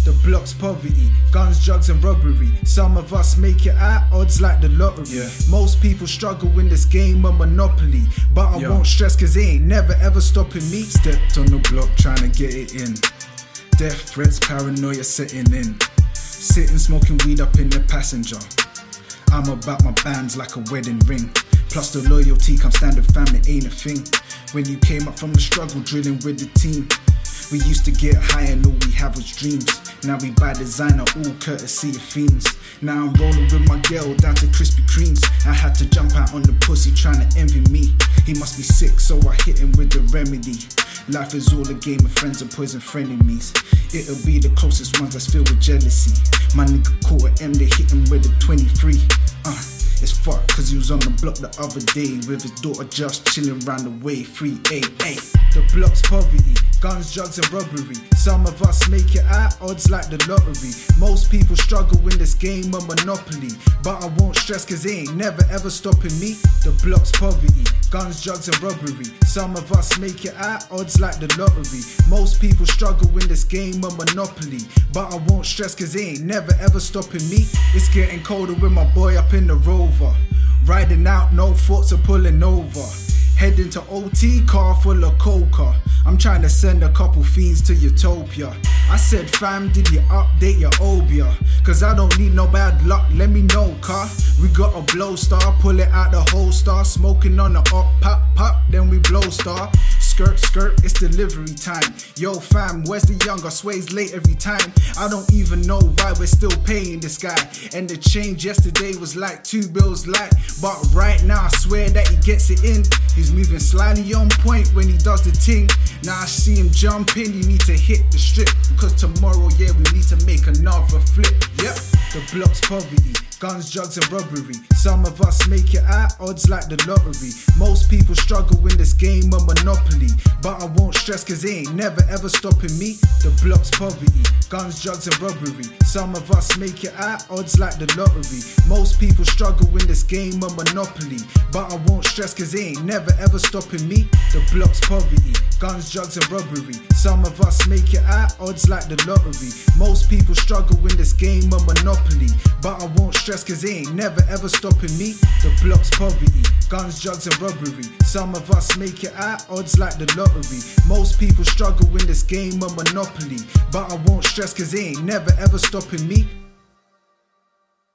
The block's poverty, guns, drugs and robbery. Some of us make it out, odds like the lottery. Most people struggle in this game of Monopoly, but I won't stress cause it ain't never ever stopping me. Stepped on the block trying to get it in. Death threats, paranoia setting in. Sitting smoking weed up in the passenger. I'm about my bands like a wedding ring. Plus the loyalty comes standard family ain't a thing. When you came up from the struggle drilling with the team, we used to get high and all we have was dreams. Now we buy designer, all courtesy of fiends. Now I'm rolling with my girl down to Krispy Kremes. I had to jump out on the pussy trying to envy me. He must be sick, so I hit him with the remedy. Life is all a game of friends and poison frenemies. It'll be the closest ones that's filled with jealousy. My nigga caught an M, they hit him with a 23. It's fucked cause he was on the block the other day with his daughter just chilling round the way. 388. The block's poverty, guns, drugs and robbery. Some of us make it out, odds like the lottery. Most people struggle in this game of Monopoly, but I won't stress cause it ain't never ever stopping me. The block's poverty, guns, drugs and robbery. Some of us make it out, odds like the lottery. Most people struggle in this game of Monopoly, but I won't stress cause it ain't never ever stopping me. It's getting colder with my boy up in the Rover. Riding out, no thoughts of pulling over. Heading to OT, car full of coca. I'm trying to send a couple fiends to Utopia. I said fam, did you update your Obia? Cause I don't need no bad luck, let me know car. We got a blow star, pull it out the holster. Smoking on the up, pop, pop, then we blow star. Skirt, skirt, it's delivery time. Yo fam, where's the younger? Sways late every time. I don't even know why we're still paying this guy. And the change yesterday was like 2 bills light. But right now I swear that he gets it in. He's moving slightly on point when he does the ting. Now I see him jump in, you need to hit the strip. Because tomorrow, yeah, we need to make another flip. Yep, the block's poverty, guns, drugs and robbery. Some of us make it out, odds like the lottery. Most people struggle in this game of Monopoly, but I won't stress cause it ain't never ever stopping me. The block's poverty, guns, drugs and robbery. Some of us make it out, odds like the lottery. Most people struggle in this game of Monopoly, but I won't stress cause it ain't never ever stopping me. The block's poverty, guns, drugs and robbery. Some of us make it out, odds like the lottery. Most people struggle in this game of Monopoly, but I won't stress cause it ain't never ever stopping me. The block's poverty, guns, drugs and robbery. Some of us make it out, odds like the lottery. Most people struggle in this game of Monopoly, but I won't stress cause it ain't never ever stopping me.